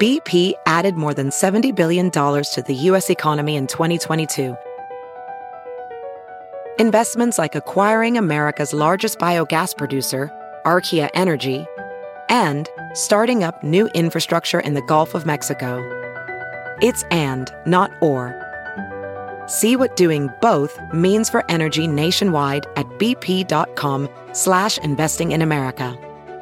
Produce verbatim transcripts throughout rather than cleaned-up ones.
B P added more than seventy billion dollars to the U S economy in twenty twenty-two. Investments like acquiring America's largest biogas producer, Archaea Energy, and starting up new infrastructure in the Gulf of Mexico. It's and, not or. See what doing both means for energy nationwide at bp.com slash investing in America.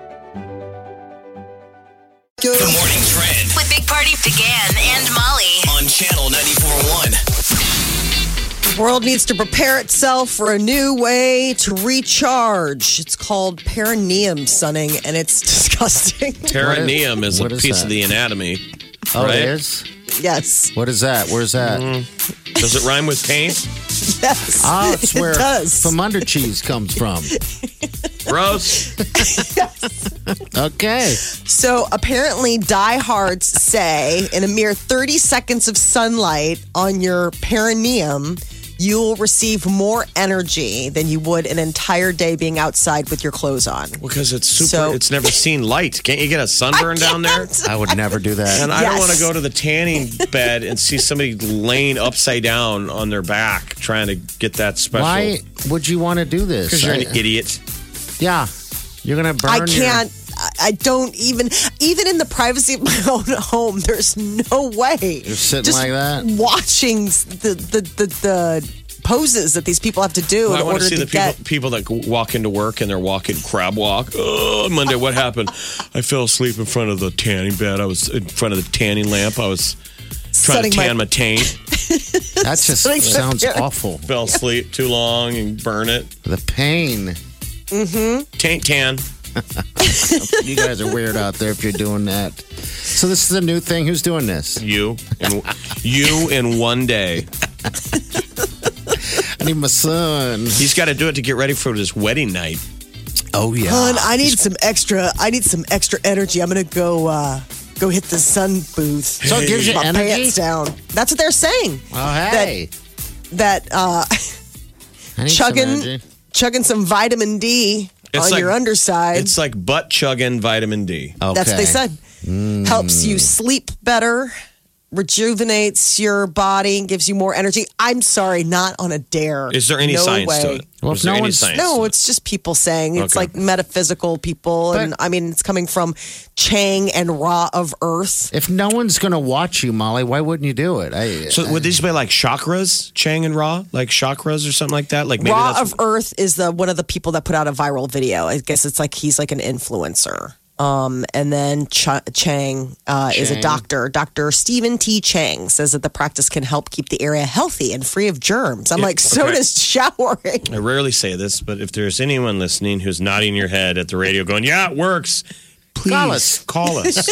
The Morning Trend With Big Party began and Molly. on Channel ninety-four point one. The world needs to prepare itself for a new way to recharge. It's called perineum sunning, and it's disgusting. Perineum is a What is piece that? of the anatomy. Oh, right? it is? Yes. What is that? Where's that? Does it rhyme with taint? Yes. Oh, it's it where does. from under cheese comes from. Gross. Okay. So apparently, diehards say in a mere thirty seconds of sunlight on your perineum, you'll receive more energy than you would an entire day being outside with your clothes on. Because it's super, So- it's never seen light. Can't you get a sunburn down there? I would never do that. And I don't Yes. want to go to the tanning bed and see somebody laying upside down on their back trying to get that special. Why would you want to do this? Because you're an I- idiot. Yeah. You're going to burn I your- can't. I- I don't even, even in the privacy of my own home, there's no way. You're sitting Just like that? watching the, the, the, the poses that these people have to do Well, I in want order to see to the people, get. people that walk into work and they're walking crab walk. Oh, Monday, what happened? I fell asleep in front of the tanning bed. I was in front of the tanning lamp. I was trying Setting to my- tan my, taint. That just Like- sounds awful. Fell asleep too long and burn it. The pain. Taint tan. You guys are weird out there if you're doing that. So this is a new thing. Who's doing this? You and you in one day. I need my son. He's got to do it to get ready for his wedding night. Oh, yeah. Hun, I need some extra. I need some extra energy. I'm gonna go. Uh, Go hit the sun booth. So it gives you my energy? pants down. That's what they're saying. Oh, hey. That uh, I need some chugging, energy. chugging some vitamin D It's on like- your underside. It's like butt chugging vitamin D. Okay. That's what they said. Helps Mm. you sleep better, rejuvenates your body, gives you more energy. I'm sorry, not on a dare. Is there any no science way. to it? Well, Is if there no any one's- science No, to it? it's just people saying it's Okay. like metaphysical people, and But- I mean it's coming from Chang and Ra of Earth. If no one's going to watch you, Molly, why wouldn't you do it? I, So would these be like chakras, Chang and Ra, like chakras or something like that? Like maybe Ra that's of Earth is the one of the people that put out a viral video. I guess it's like he's like an influencer. Um, and then Ch- Chang uh, is a Chang. doctor. Doctor Stephen T. Chang says that the practice can help keep the area healthy and free of germs. I'm Yeah, like, so okay. does showering. I rarely say this, but if there's anyone listening who's nodding your head at the radio going, yeah, it works, please Call us. Call us.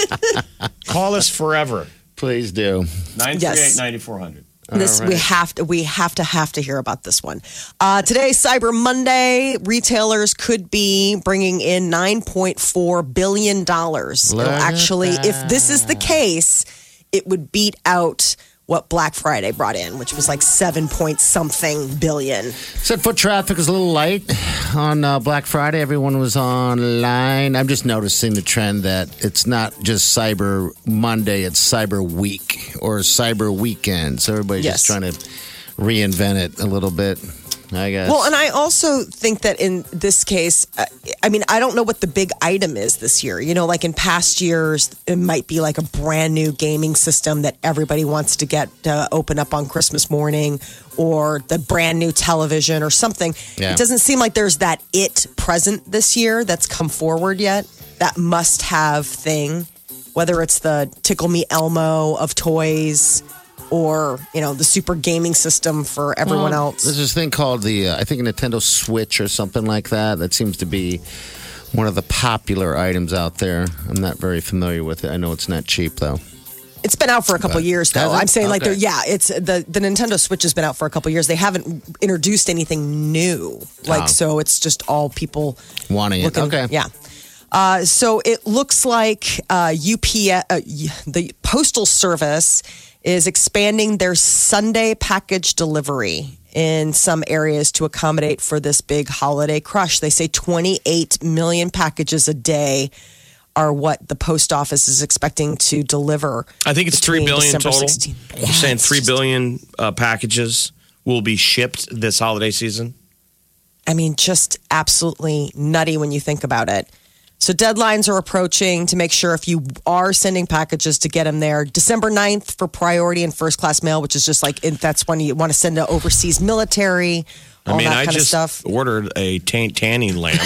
Call us forever. please do. nine three eight, Yes. nine four hundred. This we have to we have to have to hear about this one. Uh, today, Cyber Monday, retailers could be bringing in nine point four billion dollars. It'll Look at actually, if this is the case, it would beat out what Black Friday brought in, which was like seven point something billion. Said foot traffic is a little light on uh, Black Friday. Everyone was online. I'm just noticing the trend that it's not just Cyber Monday, it's Cyber Week or Cyber Weekend. So everybody's Yes. just trying to reinvent it a little bit, I guess. Well, and I also think that in this case, uh, I mean, I don't know what the big item is this year. You know, like in past years, it might be like a brand new gaming system that everybody wants to get to open up on Christmas morning, or the brand new television or something. Yeah. It doesn't seem like there's that it present this year that's come forward yet, that must have thing, whether it's the Tickle Me Elmo of toys, or, you know, the super gaming system for everyone Well, else. There's this thing called the, uh, I think, a Nintendo Switch or something like that. That seems to be one of the popular items out there. I'm not very familiar with it. I know it's not cheap, though. It's been out for a couple But- years, though. Has it? I'm saying, like, Okay. they're, yeah, it's the the Nintendo Switch has been out for a couple years. They haven't introduced anything new, like, Oh. so it's just all people Wanting it. looking. Okay. Yeah. Uh, so it looks like uh, U P S, uh, the Postal Service, is expanding their Sunday package delivery in some areas to accommodate for this big holiday crush. They say twenty-eight million packages a day are what the post office is expecting to deliver. I think it's three between billion December total. sixteenth. You're Yeah, saying it's three just- billion uh, packages will be shipped this holiday season. I mean, just absolutely nutty when you think about it. So deadlines are approaching to make sure if you are sending packages to get them there. December ninth for priority and first class mail, which is just like, that's when you want to send to overseas military, all I mean, that I kind just of stuff. ordered a tan- tanning lamp.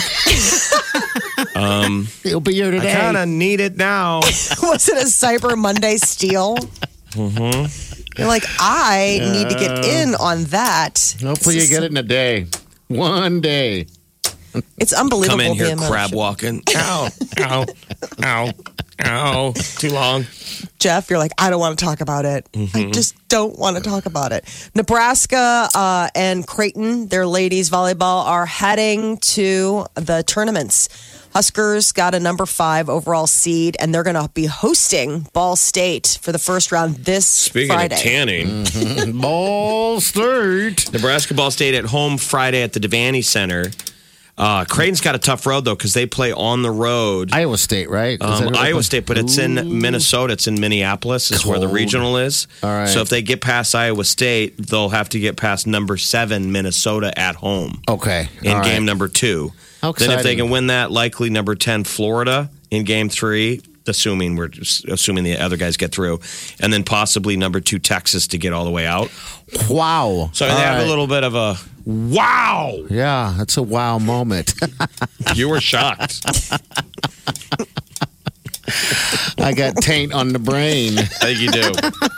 um, It'll be here today. I kind of need it now. Was it a Cyber Monday steal? Mm-hmm. You're like, I need to get in on that. Hopefully you get it in a day. One day. It's unbelievable. Come in the here amount of crab shit. walking. Ow, ow, ow, ow. Too long. Jeff, you're like, I don't want to talk about it. Mm-hmm. I just don't want to talk about it. Nebraska uh, and Creighton, their ladies volleyball, are heading to the tournaments. Huskers got a number five overall seed, and they're going to be hosting Ball State for the first round this Speaking Friday. of tanning, Ball State. Nebraska Ball State at home Friday at the Devaney Center. Uh, Creighton's got a tough road, though, because they play on the road. Iowa State, right? Is that Um, who they Iowa play? State, but it's in Minnesota. It's in Minneapolis is where the Cold. regional is. All right. So if they get past Iowa State, they'll have to get past number seven, Minnesota, at home Okay. in All game right. number two. How Then if they exciting. can win that, likely number ten, Florida, in game three, assuming we're just assuming the other guys get through, and then possibly number two, Texas, to get all the way out. Wow. So All they have right. a little bit of a wow. Yeah, that's a wow moment. You were shocked. I got taint on the brain. I think you do.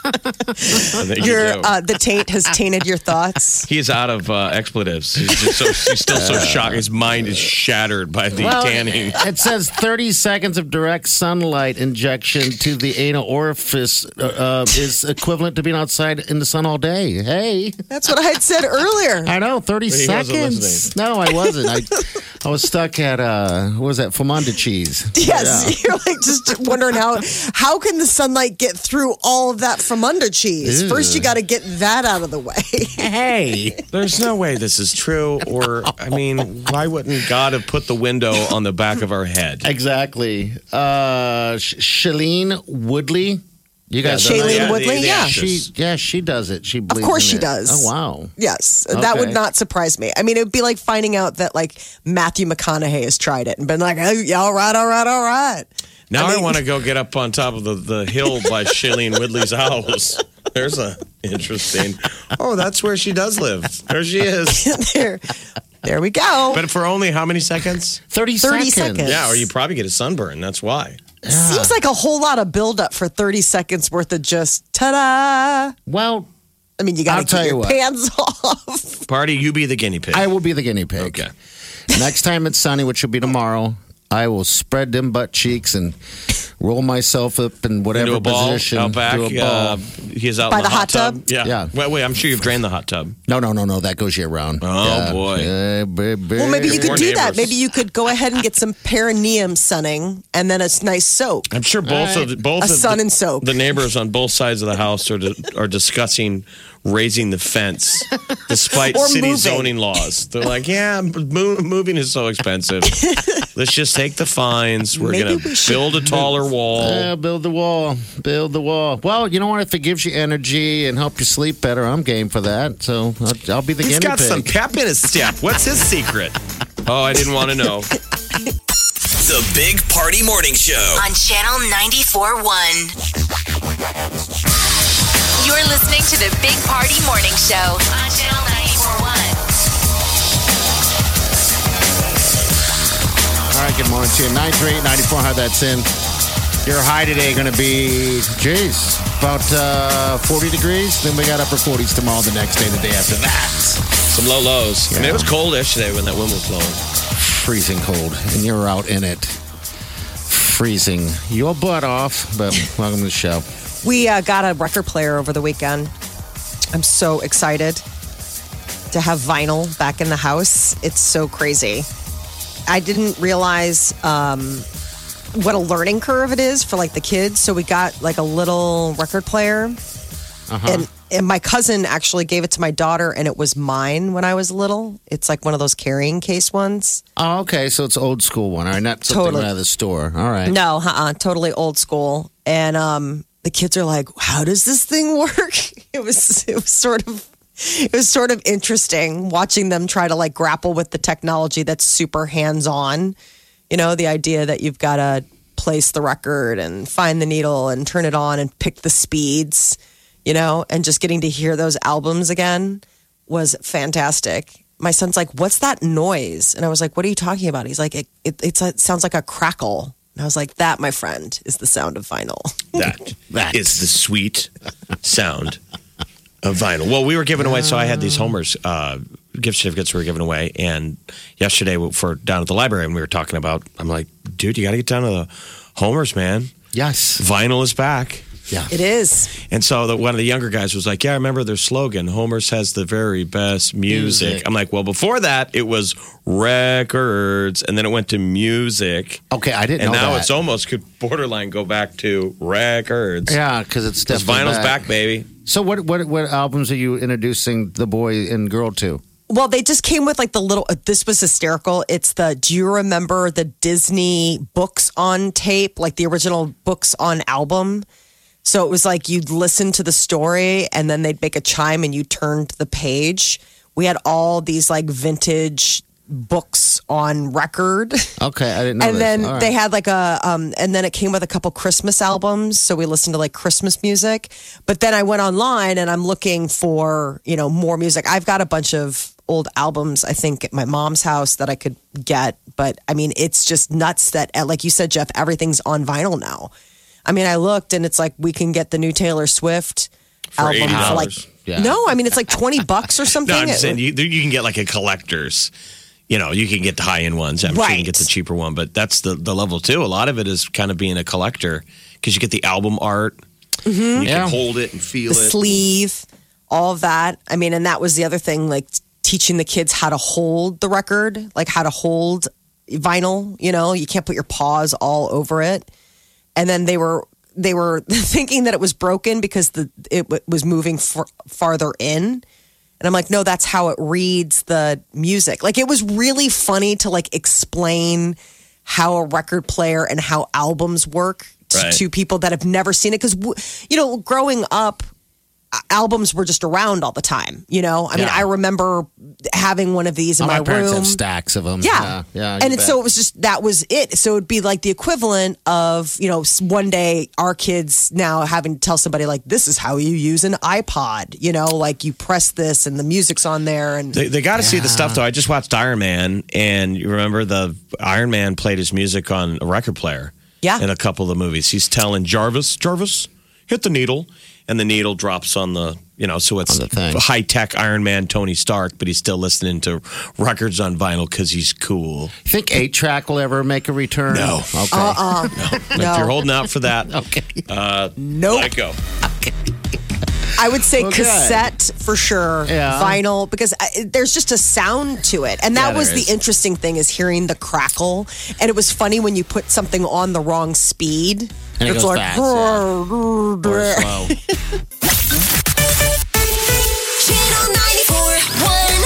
I think Your, you do. uh, the taint has tainted your thoughts. He's out of uh, expletives. He's just so he's still so shocked. His mind is shattered by the Well, tanning. it says thirty seconds of direct sunlight injection to the anal orifice uh, uh, is equivalent to being outside in the sun all day. Hey, That's what I had said earlier. I know, thirty He wasn't seconds. listening. No, I wasn't. I, I was stuck at, uh, what was that, Famunda cheese. Yes, you're like just wondering how how can the sunlight get through all of that from under cheese? Ew. First, you got to get that out of the way. Yeah. Hey. There's no way this is true. Or I mean, why wouldn't God have put the window on the back of our head? Exactly. Uh, Sh- Shailene Woodley. You guys Yeah, know the- Shailene yeah, the- Woodley, the yeah. actress. She, yeah, she does it. She believes course in she it. does. Oh, wow. Yes, that would Okay. not surprise me. I mean, it would be like finding out that like Matthew McConaughey has tried it and been like, oh, yeah, all right, all right, all right. Now I I, mean- want to go get up on top of the, the hill by Shailene Woodley's house. There's a interesting. Oh, that's where she does live. There she is. there, there we go. But for only how many seconds? thirty, thirty seconds. seconds. Yeah, or you probably get a sunburn. That's why. Seems like a whole lot of buildup for thirty seconds worth of just ta-da. Well, I mean, you got I'll to tell get you your what. pants off. Party, you be the guinea pig. I will be the guinea pig. Okay. Next time it's sunny, which will be tomorrow, I will spread them butt cheeks and roll myself up in whatever Into a ball position. out back. Do a ball. Uh, he's out By in the the, hot tub? Yeah. Yeah. Wait, wait. I'm sure you've drained the hot tub. no, no, no, no. That goes year round. Oh, boy. Yeah, baby. Well, maybe you could More do that. neighbors. Maybe you could go ahead and get some perineum sunning and then a nice soak. I'm sure both of the, both A of sun the, and soak. the neighbors on both sides of the house are are discussing raising the fence, despite Or city moving. zoning laws. They're like, yeah, mo- moving is so expensive. Let's just take the fines. We're Maybe gonna we should- build a taller wall. Yeah, build the wall. Build the wall. Well, you know what? If it gives you energy and help you sleep better, I'm game for that. So I'll, I'll be the He's guinea got pig. some pep in his step. What's his secret? Oh, I didn't want to know. The Big Party Morning Show. On Channel ninety-four point one. You're listening to the Big Party Morning Show on Channel ninety-four point one. All right, good morning to you. nine three eight, nine four, how that's in. Your high today going to be, geez, about uh, forty degrees. Then we got upper forties tomorrow, the next day, the day after that. Some low lows. I mean, it was cold yesterday when that wind was blowing. Freezing cold, and you're out in it. Freezing your butt off, but welcome to the show. We uh, got a record player over the weekend. I'm so excited to have vinyl back in the house. It's so crazy. I didn't realize um, what a learning curve it is for like the kids. So we got like a little record player. Uh-huh. And and my cousin actually gave it to my daughter, and it was mine when I was little. It's like one of those carrying case ones. Oh, okay. So it's old school one. All right. Not something Totally. out of the store. All right. No, uh-uh, totally old school. And um, the kids are like, "How does this thing work?" It was it was sort of it was sort of interesting watching them try to like grapple with the technology that's super hands on. You know, the idea that you've got to place the record and find the needle and turn it on and pick the speeds. You know, and just getting to hear those albums again was fantastic. My son's like, "What's that noise?" And I was like, "What are you talking about?" He's like, "It, it, it's a, it sounds like a crackle." And I was like, "That, my friend, is the sound of vinyl." That is the sweet sound of vinyl. Well, we were giving away, so I had these Homer's uh, gift certificates we were giving away. And yesterday, for down at the library, and we were talking about, I'm like, dude, you got to get down to the Homer's, man. Yes. Vinyl is back. Yeah. It is. And so the, one of the younger guys was like, yeah, I remember their slogan, Homer's has the very best music. Music. I'm like, well, before that, it was records, and then it went to music. Okay, I didn't And know now that. it's almost could borderline go back to records. Yeah, because it's Because definitely vinyl's back, baby. So what, what what albums are you introducing the boy and girl to? Well, they just came with like the little, uh, this was hysterical. It's the, do you remember the Disney books on tape, like the original books on album? So it was like you'd listen to the story and then they'd make a chime and you turned the page. We had all these like vintage books on record. Okay, I didn't know And this. then All right. they had like a, um, and then it came with a couple Christmas albums. So we listened to like Christmas music. But then I went online and I'm looking for, you know, more music. I've got a bunch of old albums, I think, at my mom's house that I could get. But I mean, it's just nuts that, like you said, Jeff, everything's on vinyl now. I mean, I looked and it's like we can get the new Taylor Swift For album eighty for dollars. like, Yeah. no, I mean, it's like twenty bucks or something. No, I'm It- saying you, you can get like a collector's. You know, you can get the high end ones. I'm sure you Right. can get the cheaper one, but that's the, the level too. A lot of it is kind of being a collector because you get the album art. You Yeah. can hold it and feel the it. sleeve, all of that. I mean, and that was the other thing, like teaching the kids how to hold the record, like how to hold vinyl. You know, you can't put your paws all over it. And then they were they were thinking that it was broken because the it w- was moving f- farther in. And I'm like, no, that's how it reads the music. Like, it was really funny to like explain how a record player and how albums work to, Right. to people that have never seen it. Because, you know, growing up, a- albums were just around all the time. You know, I mean, Yeah. I remember having one of these in Oh, my, my parents room. have stacks of them. Yeah. Yeah. yeah and you it's, bet. so it was just, that was it. So it'd be like the equivalent of, you know, s- one day our kids now having to tell somebody like, this is how you use an iPod, you know, like you press this and the music's on there. And They, they got to see the stuff, though. I just watched Iron Man, and you remember the Iron Man played his music on a record player. Yeah. In a couple of the movies, he's telling Jarvis, Jarvis, hit the needle, and the needle drops on the, you know, so it's On the thing. high tech Iron Man Tony Stark, but he's still listening to records on vinyl because he's cool. Think eight track will ever make a return? No. Okay. uh-uh. If you're holding out for that, Okay. uh, Nope. let it go. I would say Okay. cassette for sure, Yeah. vinyl, because I, there's just a sound to it. And that Yeah, was there the is. interesting thing is hearing the crackle. And it was funny when you put something on the wrong speed. And it it's goes like, fast, Or slow. Channel ninety-four point one.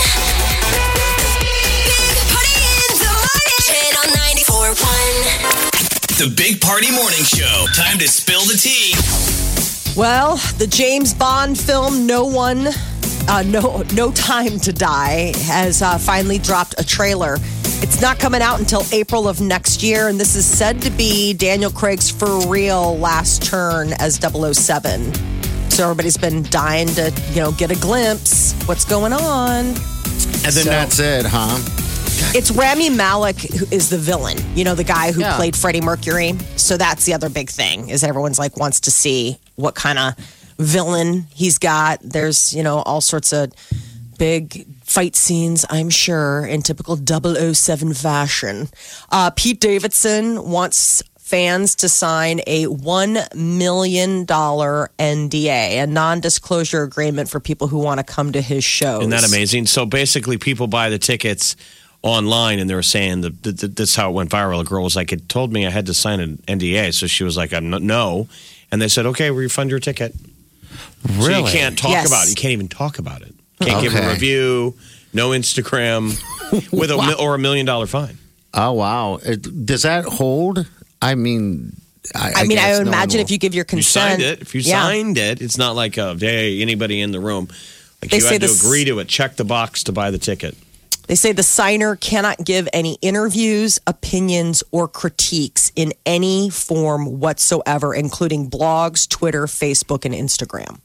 Big Party in the morning. Channel ninety-four point one. The Big Party Morning Show. Time to spill the tea. Well, the James Bond film No One, uh, No No Time to Die has uh, finally dropped a trailer. It's not coming out until April of next year, and this is said to be Daniel Craig's for real last turn as double oh seven. So everybody's been dying to, you know, get a glimpse. What's going on? And then So- that's it, huh? It's Rami Malek who is the villain. You know, the guy who Yeah. played Freddie Mercury. So that's the other big thing is everyone's like wants to see what kind of villain he's got. There's, you know, all sorts of big fight scenes, I'm sure, in typical double oh seven fashion. Uh, Pete Davidson wants fans to sign a one million dollars N D A, a non-disclosure agreement for people who want to come to his shows. Isn't that amazing? So basically, people buy the tickets online, and they were saying that, that, that that's how it went viral. A girl was like, "It told me I had to sign an N D A," so she was like, "I'm not, no," and they said, "Okay, we'll refund your ticket." Really? So you can't talk Yes. about it. You can't even talk about it. Can't give a Okay. review, no Instagram, with a Wow. mi- or a million dollar fine. Oh, wow. It- does that hold? I mean, I, I, mean, I guess would no one imagine will. if you give your You consent. signed it. If you yeah. signed it, it's not like a hey anybody in the room. Like They you say had to this- agree to it. Check the box to buy the ticket. They say the signer cannot give any interviews, opinions, or critiques in any form whatsoever, including blogs, Twitter, Facebook, and Instagram.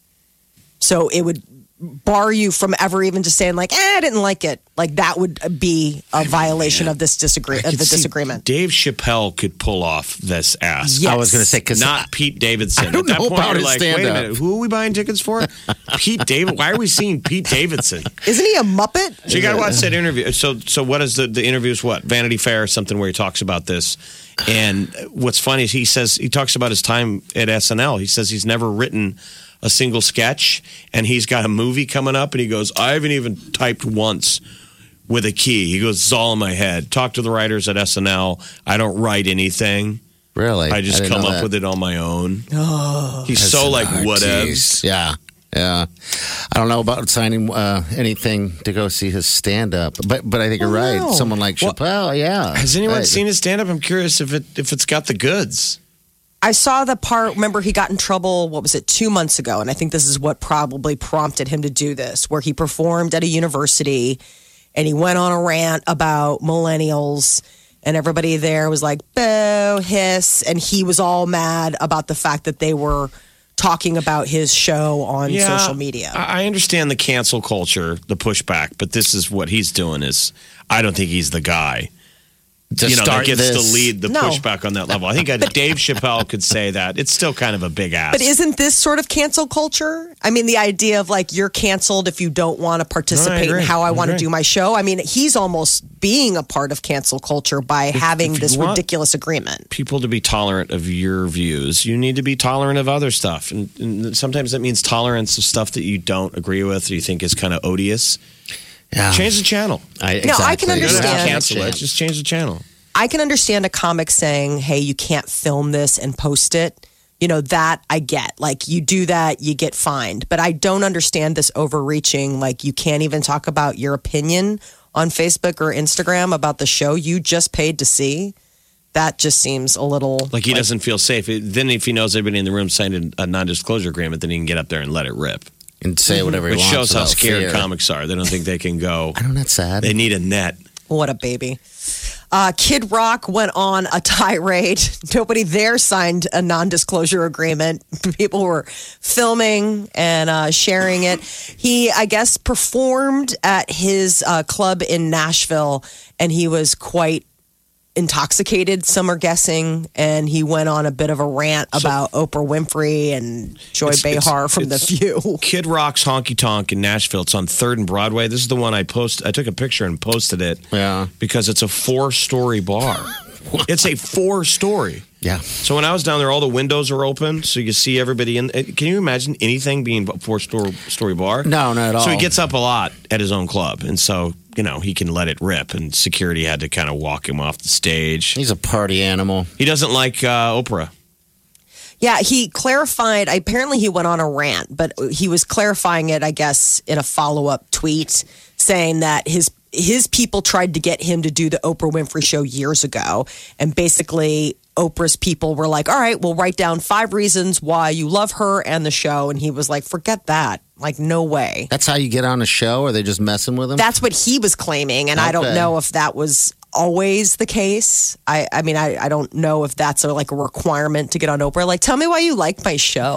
So it would bar you from ever even just saying like, eh, I didn't like it. Like that would be a violation of this disagree I of could the see disagreement. Dave Chappelle could pull off this ass. Yes. I was going to say, because Not Pete Davidson. I don't At that know point, about you're his like, wait a stand-up. minute, who are we buying tickets for? Pete David. Why are we seeing Pete Davidson? Isn't he a Muppet? So you got to watch that interview. So, so what is the the interview? Is what Vanity Fair or something where he talks about this? And what's funny is he says he talks about his time at S N L. He says he's never written a single sketch, and he's got a movie coming up, and he goes, I haven't even typed once with a key. He goes, it's all in my head. Talk to the writers at S N L. I don't write anything. Really? I just didn't come know up that. with it on my own. He's so like whatevs. Yeah. Yeah. I don't know about signing uh, anything to go see his stand up, but but I think you're Oh, right. no. Someone like Chappelle, yeah. Has anyone Right. seen his stand up? I'm curious if it if it's got the goods. I saw the part, remember he got in trouble, what was it, two months ago? And I think this is what probably prompted him to do this, where he performed at a university and he went on a rant about millennials and everybody there was like, boo, hiss. And he was all mad about the fact that they were talking about his show on social media. I I understand the cancel culture, the pushback, but this is what he's doing is I don't think he's the guy. To you know, that start gets this. to lead the No. pushback on that level. I think uh, Dave Chappelle could say that. It's still kind of a big ass. But isn't this sort of cancel culture? I mean, the idea of like you're canceled if you don't want to participate agree. in how I, I want to agree. do my show. I mean, he's almost being a part of cancel culture by having if you this want- ridiculous agreement. people to be tolerant of your views, you need to be tolerant of other stuff. And, and sometimes that means tolerance of stuff that you don't agree with or you think is kind of odious. Yeah. Change the channel. I, No, I can exactly. You don't have to understand. cancel it. Just change the channel. I can understand a comic saying, hey, you can't film this and post it. You know, that I get. Like, you do that, you get fined. But I don't understand this overreaching. Like, you can't even talk about your opinion on Facebook or Instagram about the show you just paid to see. That just seems a little. Like he doesn't feel safe. Then if he knows everybody in the room signed a non-disclosure agreement, then he can get up there and let it rip. And say whatever he Which wants. shows how without scared fear. comics are. They don't think they can go. I know that's sad. They need a net. What a baby. Uh, Kid Rock went on a tirade. Nobody there signed a non disclosure agreement. People were filming and uh, sharing it. He, I guess, performed at his uh, club in Nashville and he was quite intoxicated, some are guessing. And he went on a bit of a rant about Oprah Winfrey and Joy It's- it's- Behar from The it's- View. Kid Rock's Honky Tonk in Nashville. It's on third and Broadway. This is the one I post. I took a picture and posted it. Yeah. Because it's a four-story bar. It's a four-story. Yeah. So when I was down there, all the windows are open, so you see everybody in. Can you imagine anything being a four-story story bar? No, not at all. So he gets up a lot at his own club, and so you know he can let it rip. And security had to kind of walk him off the stage. He's a party animal. He doesn't like uh, Oprah. Yeah, he clarified. Apparently, he went on a rant, but he was clarifying it, I guess, in a follow up tweet saying that his his people tried to get him to do the Oprah Winfrey Show years ago. And basically, Oprah's people were like, all right, we'll write down five reasons why you love her and the show. And he was like, forget that. Like, no way. That's how you get on a show? Or are they just messing with him? That's what he was claiming. And I don't Okay. know if that was always the case. I, I mean, I, I don't know if that's a, like a requirement to get on Oprah. Like, tell me why you like my show.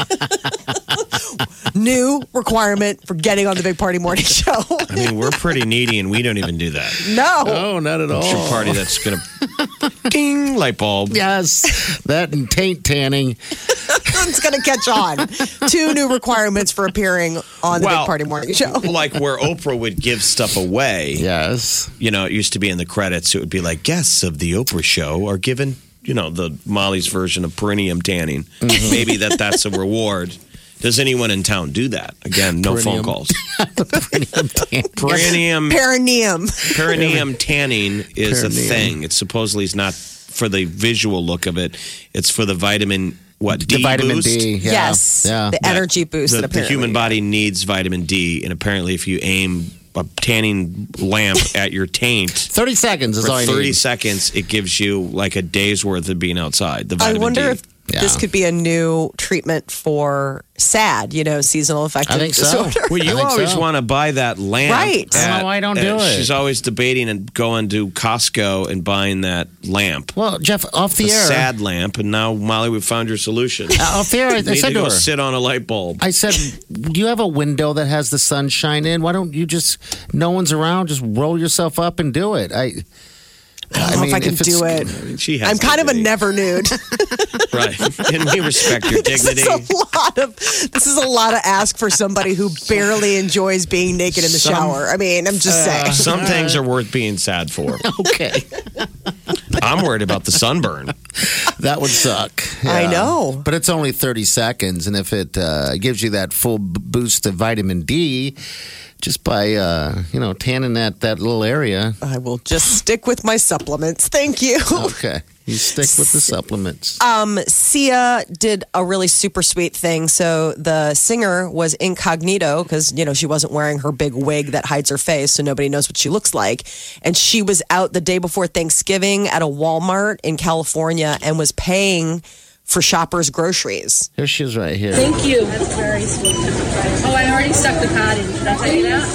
New requirement for getting on the Big Party Morning Show. I mean, we're pretty needy, and we don't even do that. No. Oh, not at all. It's your party that's gonna ding light bulb. Yes. That and taint tanning. It's going to catch on. Two new requirements for appearing on the Big Party Morning Show. Like where Oprah would give stuff away. Yes. You know, it used to be in the credits. It would be like guests of the Oprah show are given, you know, the Molly's version of perineum tanning. Maybe that that's a reward. Does anyone in town do that? Again, no phone Perineum. calls. Perineum tanning. Perineum Perineum. perineum tanning is a Perineum. thing. It supposedly is not for the visual look of it. It's for the vitamin what The D vitamin boost. D. Yeah. Yes, Yeah. the energy boost. The, that the apparently human body needs vitamin D, and apparently, if you aim a tanning lamp at your taint thirty seconds is for all you thirty need. seconds, it gives you like a day's worth of being outside. The I vitamin wonder D. if this Yeah. could be a new treatment for S A D, you know, seasonal affective I think so. disorder. Well, you I think always so. want to buy that lamp. Right. I don't know why I don't do it. She's always debating and going to Costco and buying that lamp. Well, Jeff, off the The air. sad lamp. And now, Molly, we found your solution. Uh, off the air, I, I You need said to to go her. sit on a light bulb. I said, do you have a window that has the sunshine in? Why don't you just, no one's around, just roll yourself up and do it? I, I don't know if I can it's- do it. She has I'm kind of a dignity. never nude. Right. And we respect your This dignity. is a lot of this is a lot to ask for somebody who barely enjoys being naked in the Some- shower. I mean, I'm just saying. Some things are worth being sad for. Okay. I'm worried about the sunburn. That would suck. I know. But it's only thirty seconds. And if it uh, gives you that full b- boost of vitamin D, just by, uh, you know, tanning that, that little area. I will just stick with my supplements. Thank you. Okay. You stick with the supplements. Um, Sia did a really super sweet thing. So the singer was incognito because, you know, she wasn't wearing her big wig that hides her face, so nobody knows what she looks like. And she was out the day before Thanksgiving at a Walmart in California and was paying for shoppers' groceries. Here she is right here. Thank you. That's very sweet. Oh, I already stuck the card in. Should I tell you that?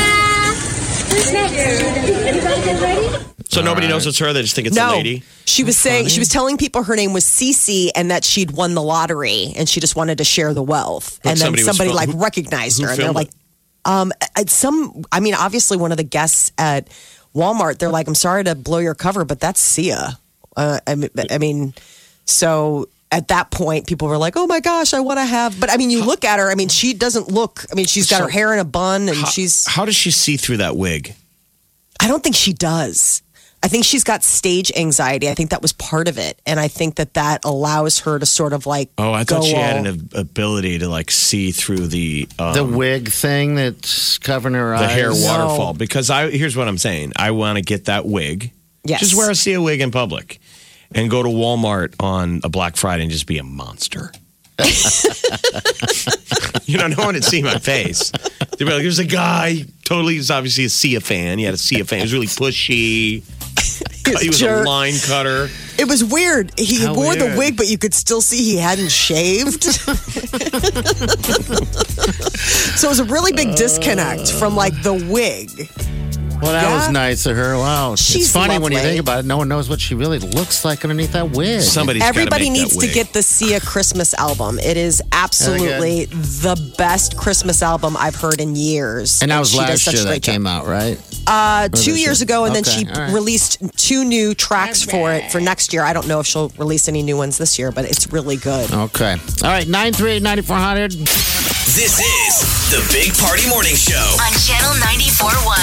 Ta-da! Who's next? Anybody get ready? So nobody knows it's her. They just think it's a No, lady. she was saying she was telling people her name was Cece and that she'd won the lottery and she just wanted to share the wealth. But and then somebody was somebody fil- like who- recognized who her and they're filmed like, it? um, at some. I mean, obviously one of the guests at Walmart. They're like, I'm sorry to blow your cover, but that's Sia. Uh, I mean, I mean, so. At that point, people were like, "Oh my gosh, I want to have." But I mean, you look at her. I mean, she doesn't look. I mean, she's got So- her hair in a bun, and How, she's. how does she see through that wig? I don't think she does. I think she's got stage anxiety. I think that was part of it, and I think that that allows her to sort of like. Oh, I thought go she had all- an ab- ability to like see through the um, The wig thing that's covering her the eyes. hair No. waterfall. Because I here's what I'm saying. I want to get that wig. Yes. Just wear a Sia wig in public, and go to Walmart on a Black Friday and just be a monster. You know, no one would see my face. They'd be like, "There's a guy. Totally, he's obviously a Sia fan. He had a Sia fan. He was really pushy. He was jerk. a line cutter." It was weird. He How wore the weird. wig, but you could still see he hadn't shaved. So it was a really big disconnect from like the wig. Well, that Yeah. was nice of her. Wow. She's it's funny when you lovely. think about it. No one knows what she really looks like underneath that wig. Somebody's gotta Everybody make that needs to wig. get the Sia Christmas album. It is absolutely the best Christmas album I've heard in years. And that was she does last such a year that great job. came out, right? Uh, two this years year? ago, and then Okay, she all right. released two new tracks for it for next year. I don't know if she'll release any new ones this year, but it's really good. Okay. All right. nine three eight, nine four hundred. This is the Big Party Morning Show. On Channel ninety-four point one.